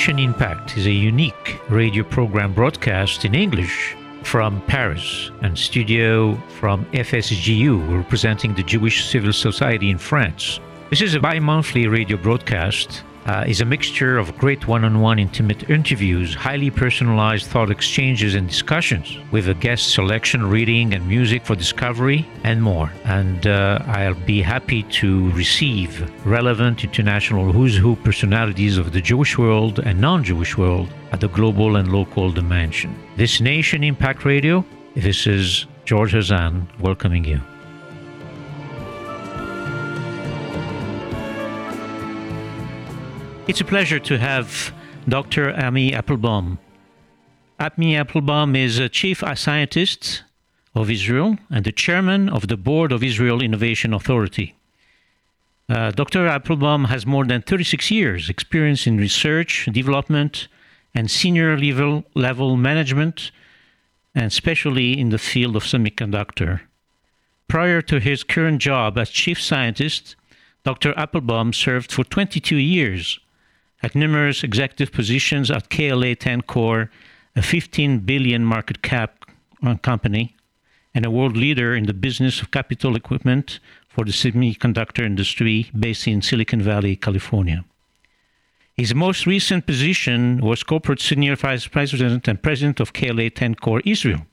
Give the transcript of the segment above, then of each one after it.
Nation Impact is a unique radio program broadcast in English from Paris and studio from FSGU, representing the Jewish Civil Society in France. This is a bi-monthly radio broadcast. Is a mixture of great one-on-one intimate interviews, highly personalized thought exchanges and discussions with a guest selection, reading and music for discovery and more. And I'll be happy to receive relevant international who's who personalities of the Jewish world and non-Jewish world at the global and local dimension. This Nation Impact Radio, this is George Hazan welcoming you. It's a pleasure to have Dr. Ami Appelbaum. Ami Appelbaum is a chief scientist of Israel and the chairman of the board of Israel Innovation Authority. Dr. Appelbaum has more than 36 years experience in research, development, and senior level management, and especially in the field of semiconductor. Prior to his current job as chief scientist, Dr. Appelbaum served for 22 years at numerous executive positions at KLA-Tencor, a 15 billion market cap company, and a world leader in the business of capital equipment for the semiconductor industry based in Silicon Valley, California. His most recent position was corporate senior vice president and president of KLA-Tencor Israel.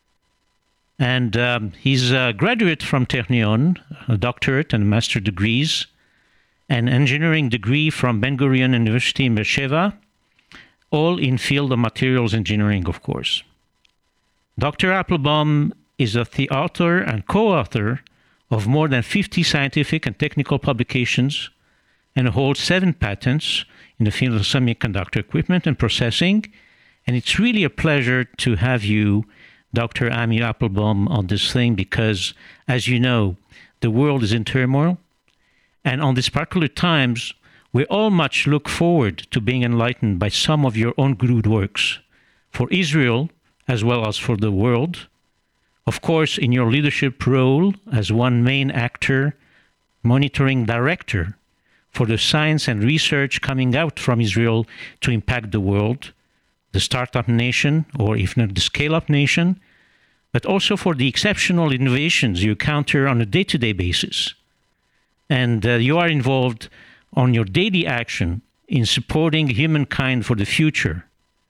And he's a graduate from Technion, a doctorate and master degrees, an engineering degree from Ben-Gurion University in Beersheba, all in field of materials engineering, of course. Dr. Appelbaum is the author and co-author of more than 50 scientific and technical publications and holds 7 patents in the field of semiconductor equipment and processing. And it's really a pleasure to have you, Dr. Ami Appelbaum, on this thing because, as you know, the world is in turmoil. And on these particular times, we all much look forward to being enlightened by some of your own good works for Israel as well as for the world. Of course, in your leadership role as one main actor, monitoring director for the science and research coming out from Israel to impact the world, the startup nation, or if not the scale-up nation, but also for the exceptional innovations you encounter on a day-to-day basis. And you are involved on your daily action in supporting humankind for the future.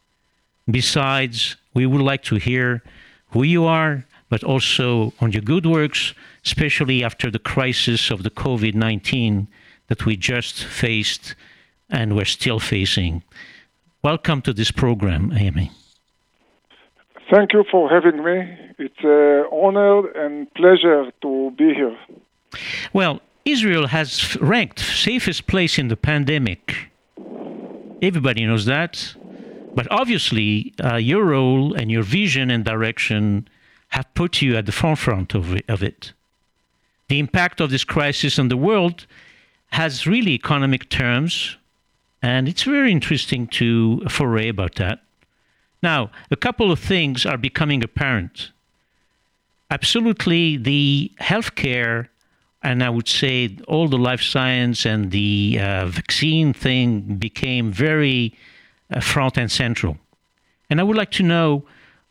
Besides, we would like to hear who you are, but also on your good works, especially after the crisis of the COVID-19 that we just faced and we're still facing. Welcome to this program, Amy. Thank you for having me. It's an honor and pleasure to be here. Well, Israel has ranked safest place in the pandemic. Everybody knows that. But obviously, your role and your vision and direction have put you at the forefront of it. The impact of this crisis on the world has really economic terms, and it's very interesting to foray about that. Now, a couple of things are becoming apparent. Absolutely, the healthcare, and I would say all the life science and the vaccine thing became very front and central. And I would like to know,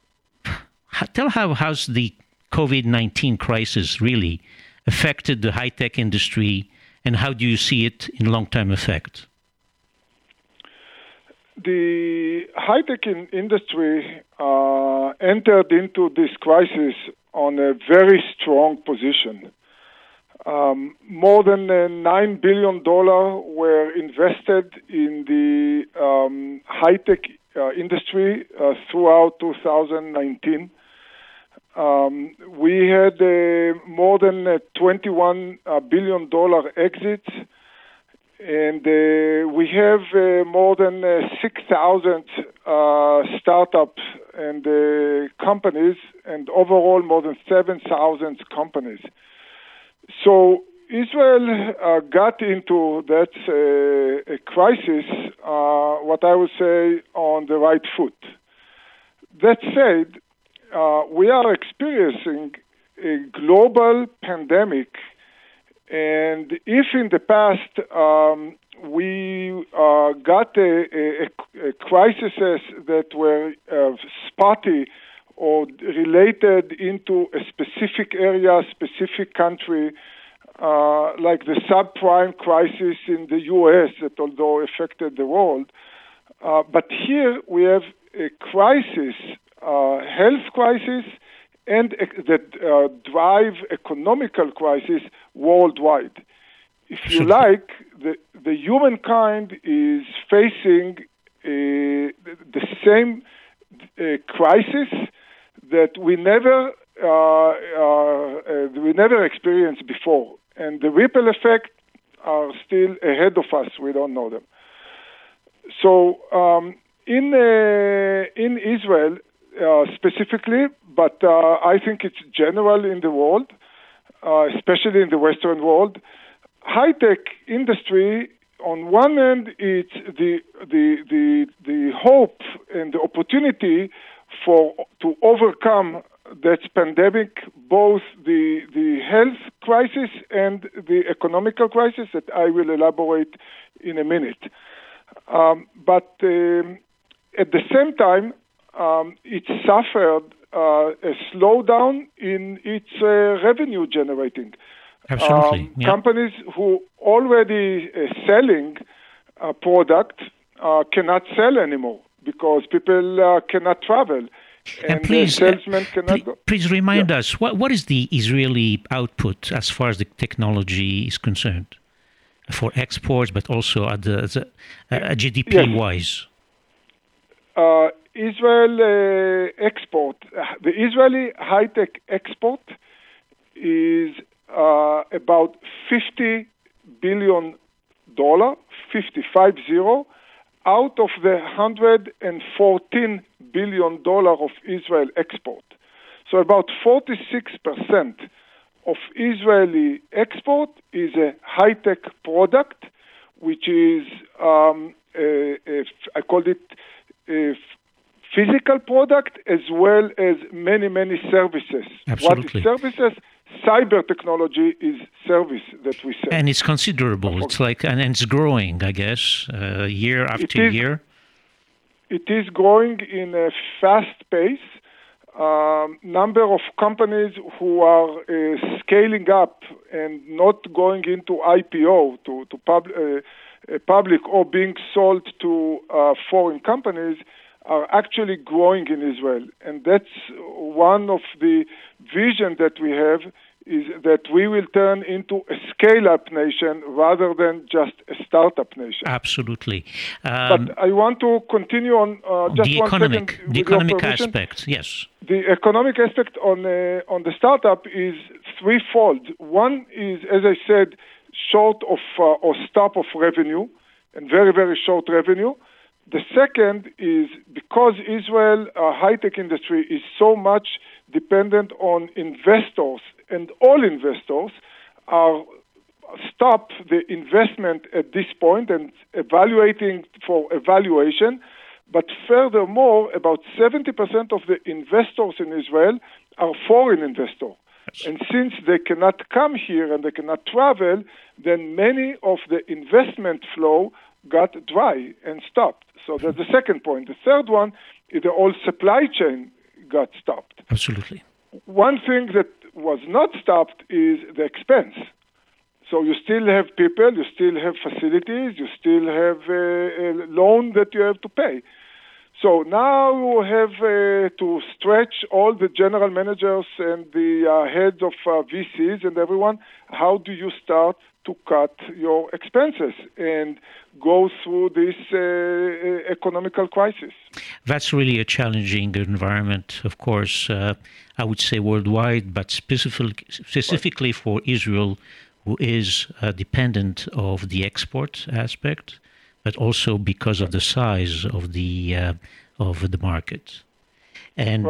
how's the COVID-19 crisis really affected the high-tech industry, and how do you see it in long-term effect? The high-tech industry entered into this crisis on a very strong position. More than $9 billion were invested in the high-tech industry throughout 2019. We had more than $21 billion exits, and we have more than 6,000 startups and companies, and overall more than 7,000 companies. So Israel got into that a crisis, what I would say, on the right foot. That said, we are experiencing a global pandemic, and if in the past we got a crises that were spotty or related into a specific area, specific country, like the subprime crisis in the U.S. that although affected the world. But here we have a crisis, health crisis, and that drive economical crisis worldwide. If you like, the humankind is facing the same crisis that we never experienced before, and the ripple effect are still ahead of us. We don't know them. So in Israel specifically, but I think it's general in the world, especially in the Western world. High-tech industry, on one end, it's the hope and the opportunity to overcome that pandemic, both the health crisis and the economical crisis that I will elaborate in a minute. But at the same time, it suffered a slowdown in its revenue generating. Absolutely. Companies who already selling a product cannot sell anymore because people cannot travel. And please, salesmen cannot go. Please remind us, what is the Israeli output as far as the technology is concerned for exports, but also at the GDP-wise? Israel export, the Israeli high-tech export is about $50 billion, 50, out of the $114 billion of Israel export. So about 46% of Israeli export is a high-tech product, which is, I call it a physical product as well as many, many services. Absolutely. What is services? Cyber technology is service that we sell. And it's considerable. It's like, and it's growing, I guess, year after year. It is growing in a fast pace. Number of companies who are scaling up and not going into IPO to public or being sold to foreign companies are actually growing in Israel. And that's one of the vision that we have, is that we will turn into a scale-up nation rather than just a startup nation. Absolutely. But I want to continue on just the 1 economic, second. The economic aspect, yes. The economic aspect on the startup is threefold. One is, as I said, short of or stop of revenue, and very, very short revenue. The second is because Israel high-tech industry is so much dependent on investors, and all investors are stop the investment at this point and evaluating for evaluation. But furthermore, about 70% of the investors in Israel are foreign investors. And since they cannot come here and they cannot travel, then many of the investment flow got dry and stopped. So that's the second point. The third one is the whole supply chain got stopped. Absolutely. One thing that was not stopped is the expense. So you still have people, you still have facilities, you still have a loan that you have to pay. So now you have to stretch all the general managers and the heads of VCs and everyone. How do you start to cut your expenses and go through this economical crisis? That's really a challenging environment, of course, I would say worldwide, but specifically for Israel, who is dependent of the export aspect, but also because of the size of the market. And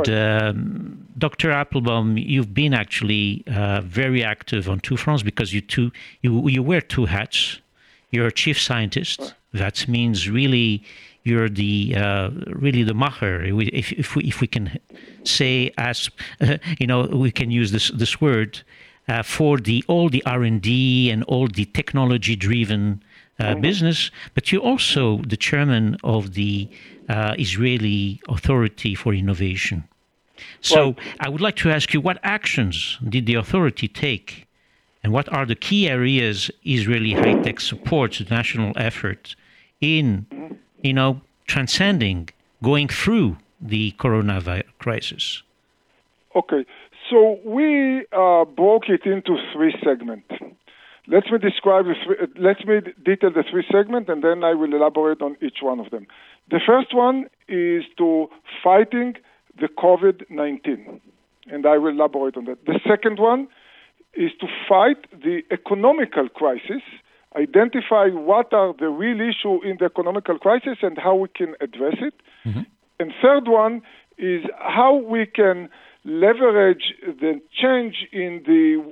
Dr. Appelbaum, you've been actually very active on two fronts because you wear two hats. You're a chief scientist. That means really you're the macher. If we can say, as we can use this word for all the R&D and all the technology-driven business, but you're also the chairman of the Israeli Authority for Innovation. So I would like to ask you, what actions did the authority take, and what are the key areas Israeli high-tech supports the national effort in, transcending, going through the coronavirus crisis? Okay, so we broke it into three segments. Let me detail the three segments, and then I will elaborate on each one of them. The first one is to fighting the COVID-19, and I will elaborate on that. The second one is to fight the economical crisis, identify what are the real issues in the economical crisis and how we can address it. Mm-hmm. And third one is how we can leverage the change in the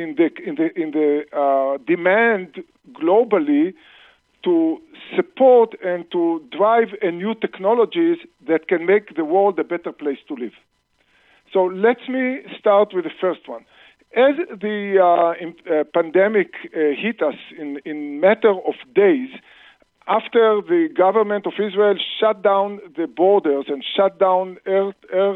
demand globally to support and to drive new technologies that can make the world a better place to live. So let me start with the first one. As the pandemic hit us in matter of days, after the government of Israel shut down the borders and shut down air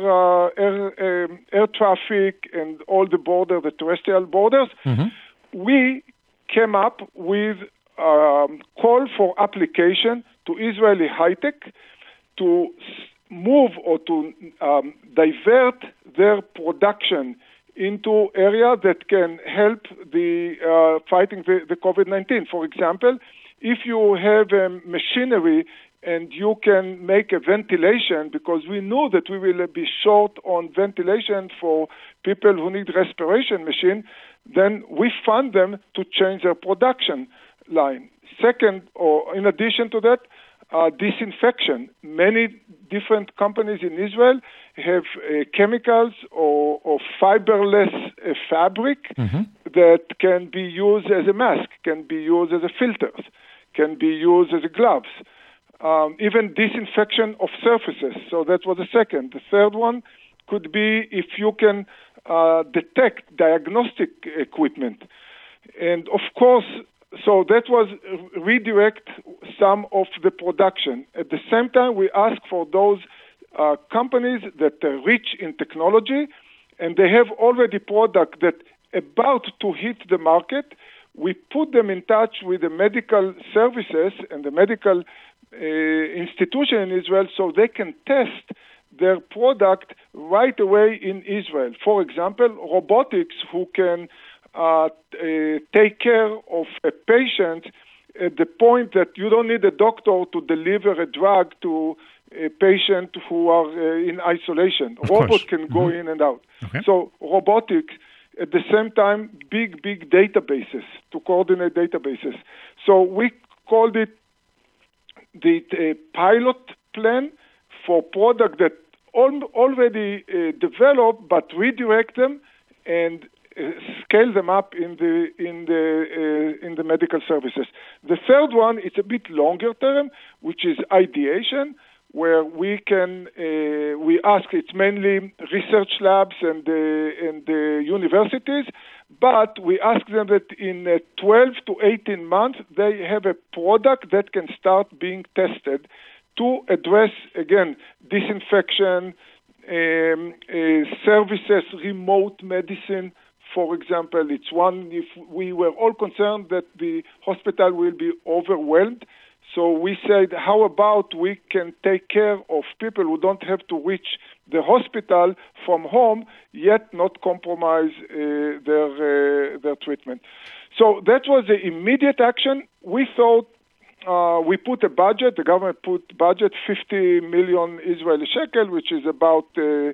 traffic and all the terrestrial borders, mm-hmm. we came up with a call for application to Israeli high-tech to move or to divert their production into area that can help the fighting the COVID-19. For example, if you have machinery and you can make a ventilation, because we know that we will be short on ventilation for people who need respiration machine, then we fund them to change their production line. Second, or in addition to that, disinfection. Many different companies in Israel have chemicals or fiberless fabric mm-hmm. that can be used as a mask, can be used as a filters, can be used as a gloves, even disinfection of surfaces. So that was the second. The third one could be if you can detect diagnostic equipment. And of course, so that was redirect some of the production. At the same time, we ask for those companies that are rich in technology and they have already product that about to hit the market. We put them in touch with the medical services and the medical institution in Israel so they can test their product right away in Israel. For example, robotics who can take care of a patient at the point that you don't need a doctor to deliver a drug to a patient who are in isolation. Robots can go mm-hmm. in and out. Okay. So robotics, at the same time, big databases to coordinate databases. So we called it the pilot plan for product that already developed, but redirect them and scale them up in the medical services. The third one is a bit longer term, which is ideation, where we can we ask. It's mainly research labs and the universities, but we ask them that in 12 to 18 months they have a product that can start being tested to address again disinfection, services, remote medicine. For example, it's one, if we were all concerned that the hospital will be overwhelmed, so we said, how about we can take care of people who don't have to reach the hospital from home, yet not compromise their treatment. So that was the immediate action. We thought we put a budget, the government put budget 50 million Israeli shekel, which is about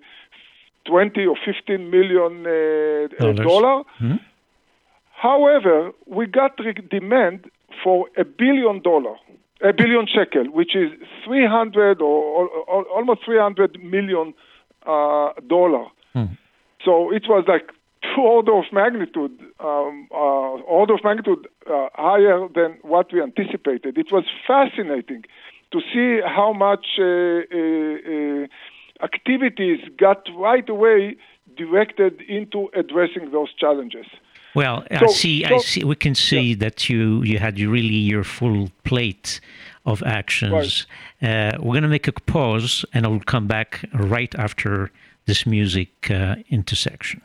20 or 15 million dollar. Mm-hmm. However, we got demand for $1 billion shekel, which is 300 or almost 300 million dollar. Mm. So it was like order of magnitude higher than what we anticipated. It was fascinating to see how much activities got right away directed into addressing those challenges. Well, I see. We can see that you had really your full plate of actions. Right. We're going to make a pause, and I will come back right after this music intersection.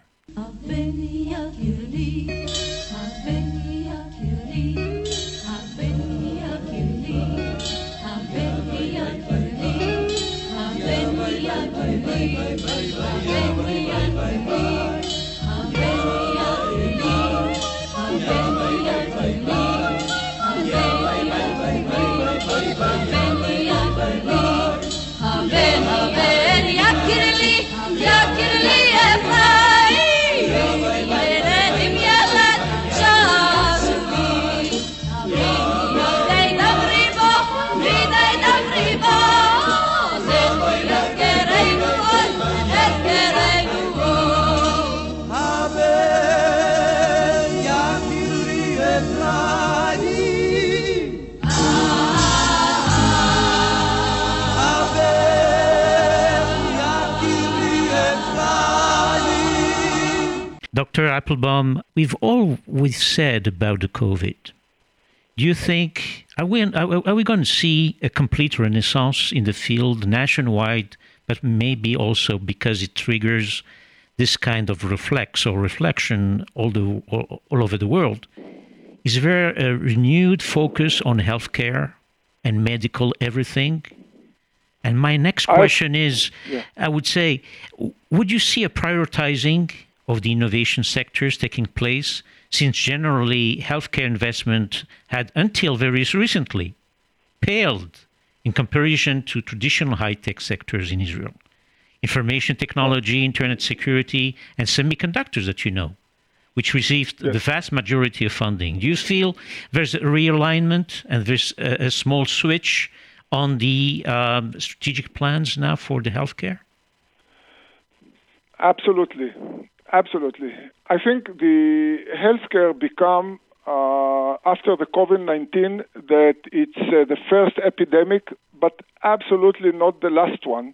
Dr. Appelbaum, we've always said about the COVID. Do you think, are we going to see a complete renaissance in the field nationwide, but maybe also because it triggers this kind of reflection all over the world? Is there a renewed focus on healthcare and medical everything? And my next question is, I would say, would you see a prioritizing of the innovation sectors taking place, since generally healthcare investment had until very recently paled in comparison to traditional high-tech sectors in Israel? Information technology, internet security, and semiconductors that you know, which received the vast majority of funding. Do you feel there's a realignment and there's a small switch on the strategic plans now for the healthcare? Absolutely. I think the healthcare become, after the COVID-19, that it's the first epidemic, but absolutely not the last one.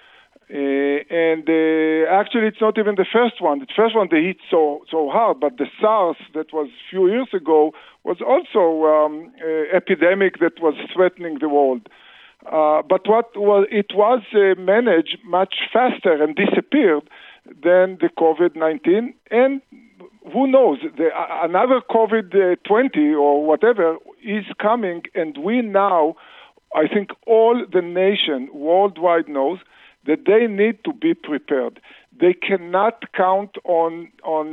Actually, it's not even the first one. The first one they hit so hard, but the SARS that was a few years ago was also epidemic that was threatening the world. But it was managed much faster and disappeared than the COVID-19, and who knows, another COVID-20 or whatever is coming, and we now, I think all the nation worldwide knows that they need to be prepared. They cannot count on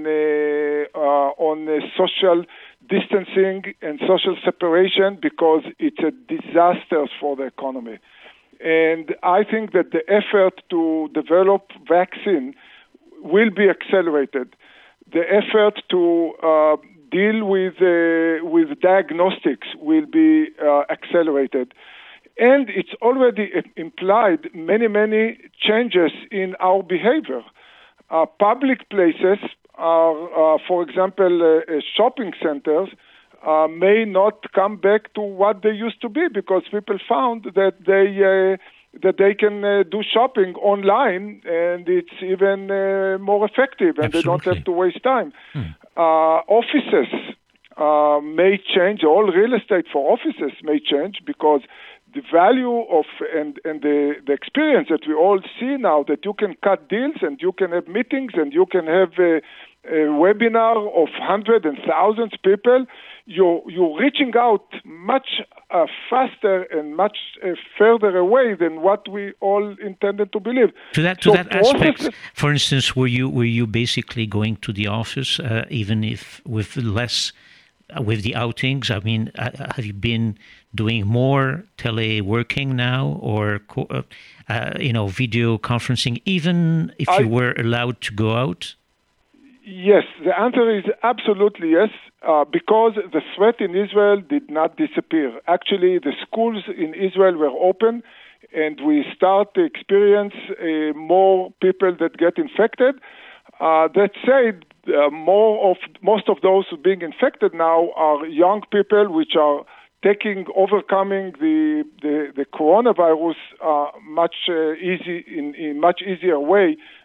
social distancing and social separation because it's a disaster for the economy. And I think that the effort to develop vaccine will be accelerated. The effort to deal with diagnostics will be accelerated. And it's already implied many changes in our behavior. Public places are, for example, shopping centers may not come back to what they used to be because people found that they can do shopping online, and it's even more effective, and Absolutely. They don't have to waste time. Offices may change. All real estate for offices may change because the value of and the experience that we all see now, that you can cut deals and you can have meetings and you can have a webinar of hundreds and thousands of people. You're reaching out much faster and much further away than what we all intended to believe. To that aspect, for instance, were you basically going to the office, even if with the outings? I mean, have you been doing more teleworking now, or video conferencing, even if you were allowed to go out? Yes, the answer is absolutely yes, because the threat in Israel did not disappear. Actually, the schools in Israel were open, and we start to experience more people that get infected. That said, most of those being infected now are young people, which are overcoming the coronavirus in much easier way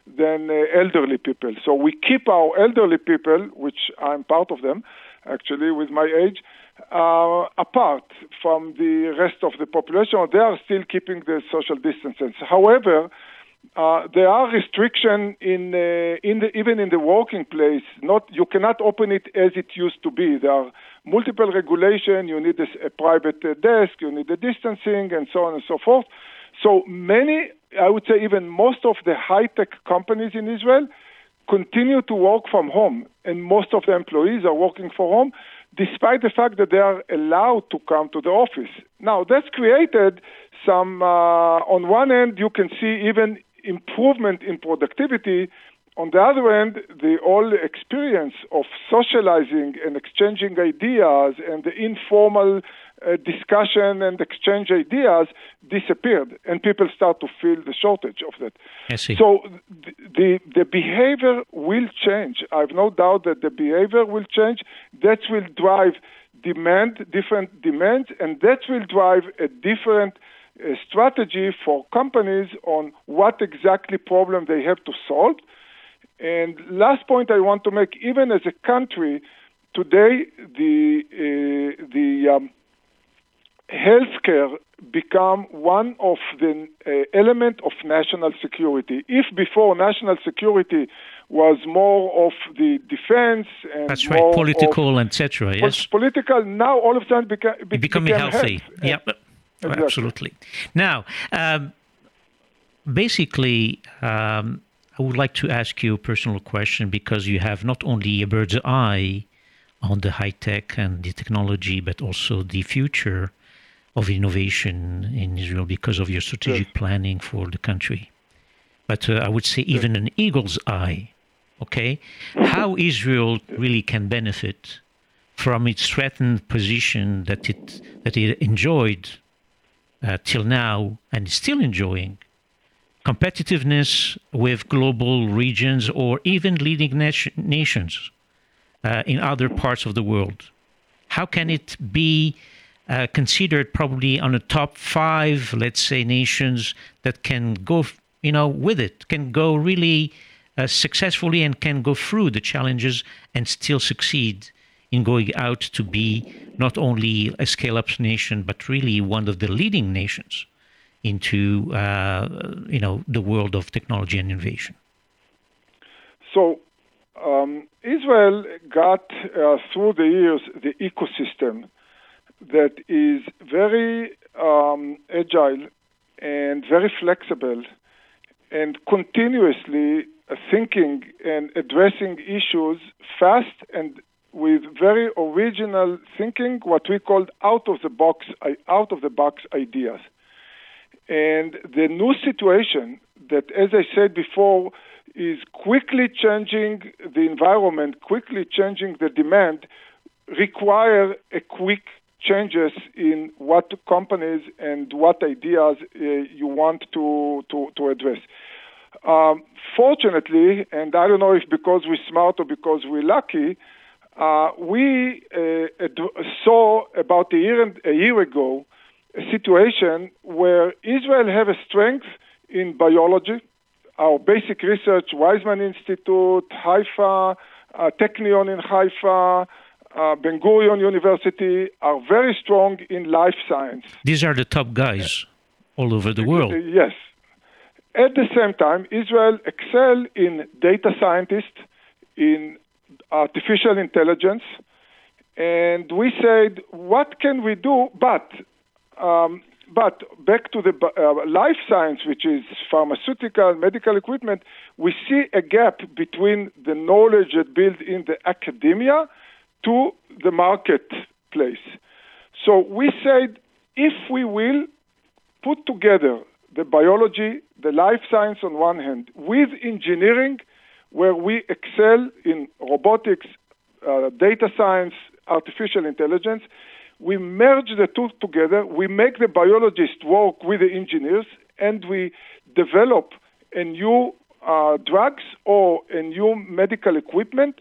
than elderly people. So we keep our elderly people, which I'm part of them, actually, with my age, apart from the rest of the population. They are still keeping the social distances. However, there are restrictions even in the working place. You cannot open it as it used to be. There are multiple regulations. You need a private desk. You need the distancing, and so on and so forth. So many, I would say even most of the high-tech companies in Israel continue to work from home, and most of the employees are working from home, despite the fact that they are allowed to come to the office. Now, that's created some, on one end, you can see even improvement in productivity. On the other end, the whole experience of socializing and exchanging ideas and the informal discussion and exchange ideas disappeared, and people start to feel the shortage of that. I see. So the behavior will change. I have no doubt that the behavior will change. That will drive different demands, and that will drive a different strategy for companies on what exactly problem they have to solve. And last point I want to make, even as a country, today the healthcare become one of the element of national security. If before national security was more of the defense and that's right, political, etc. Yes, political. Now all of a sudden becoming healthy. Health. Yeah, exactly. Absolutely. Now, basically. I would like to ask you a personal question, because you have not only a bird's eye on the high tech and the technology, but also the future of innovation in Israel because of your strategic planning for the country. But I would say even an eagle's eye, okay? How Israel really can benefit from its threatened position that it enjoyed till now and is still enjoying. Competitiveness with global regions or even leading nations in other parts of the world. How can it be considered probably on the top 5, let's say, nations that can go, with it, can go really successfully and can go through the challenges and still succeed in going out to be not only a scale-up nation, but really one of the leading nations into the world of technology and innovation? So Israel got through the years the ecosystem that is very agile and very flexible and continuously thinking and addressing issues fast and with very original thinking, what we called out of the box ideas. And the new situation that, as I said before, is quickly changing the environment, quickly changing the demand, require a quick changes in what companies and what ideas you want to address. Fortunately, and I don't know if because we're smart or because we're lucky, we saw about a year ago a situation where Israel have a strength in biology. Our basic research, Weizmann Institute, Haifa, Technion in Haifa, Ben Gurion University are very strong in life science. These are the top guys all over the world. Yes. At the same time, Israel excel in data scientists, in artificial intelligence, and we said, what can we do? But back to the life science, which is pharmaceutical, medical equipment, we see a gap between the knowledge that built in the academia to the marketplace. So we said, if we will put together the biology, the life science on one hand, with engineering, where we excel in robotics, data science, artificial intelligence, we merge the two together, we make the biologists work with the engineers, and we develop a new drugs or a new medical equipment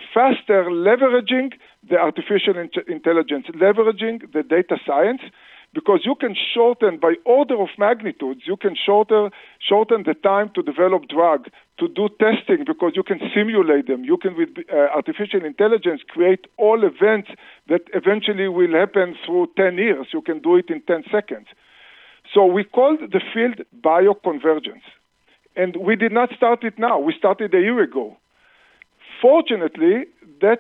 faster, leveraging the artificial intelligence, leveraging the data science, because you can shorten by order of magnitudes, you can shorten the time to develop drug, to do testing, because you can simulate them. You can, with artificial intelligence, create all events that eventually will happen through 10 years. You can do it in 10 seconds. So we called the field bioconvergence. And we did not start it now. We started a year ago. Fortunately, that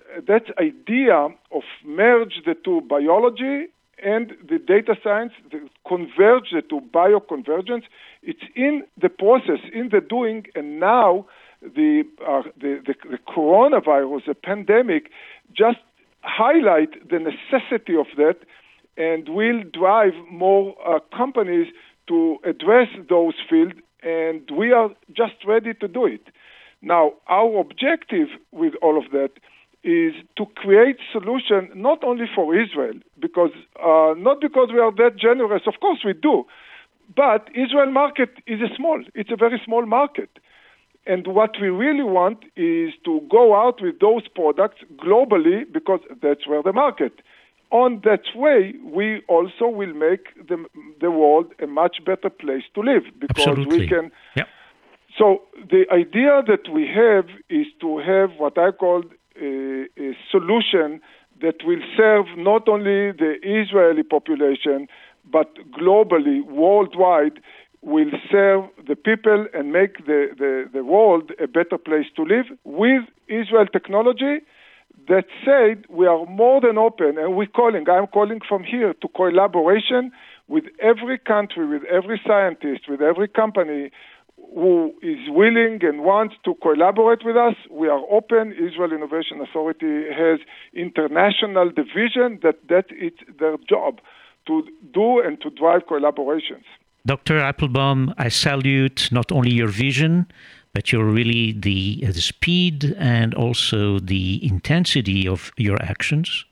idea of merge the two, biology and the data science, converge the two, bioconvergence, it's in the process, in the doing, and now the coronavirus, the pandemic, just highlight the necessity of that and will drive more companies to address those fields, and we are just ready to do it. Now, our objective with all of that is to create solution not only for Israel, because not because we are that generous, of course we do, but Israel market is it's a very small market. And what we really want is to go out with those products globally, because that's where the market. On that way, we also will make the world a much better place to live, because Absolutely. we can. Yep. So the idea that we have is to have what I call a solution that will serve not only the Israeli population, but globally, worldwide, will serve the people and make the world a better place to live with Israel technology. That said, we are more than open, and I'm calling from here to collaboration with every country, with every scientist, with every company who is willing and wants to collaborate with us. We are open. Israel Innovation Authority has international division that it's their job to do and to drive collaborations. Dr. Appelbaum, I salute not only your vision, but you're really the speed and also the intensity of your actions.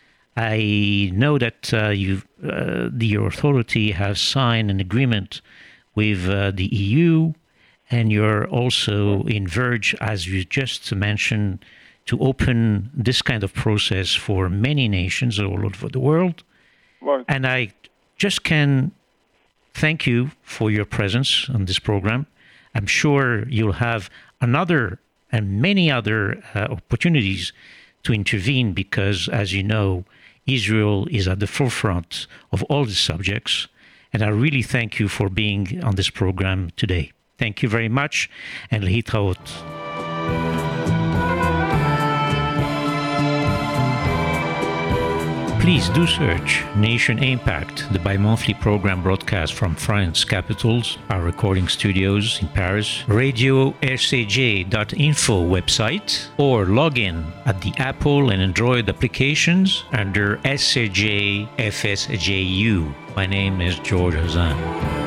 I know that your authority has signed an agreement with the EU, and you're also in verge, as you just mentioned, to open this kind of process for many nations all over the world. Right. And I just can thank you for your presence on this program. I'm sure you'll have another and many other opportunities to intervene, because, as you know, Israel is at the forefront of all these subjects. And I really thank you for being on this program today. Thank you very much, and להתראות. Please do search Nation Impact, the bi-monthly program broadcast from France capitals, our recording studios in Paris, radio-scj.info website, or log in at the Apple and Android applications under SCJ FSJU. My name is George Hazan.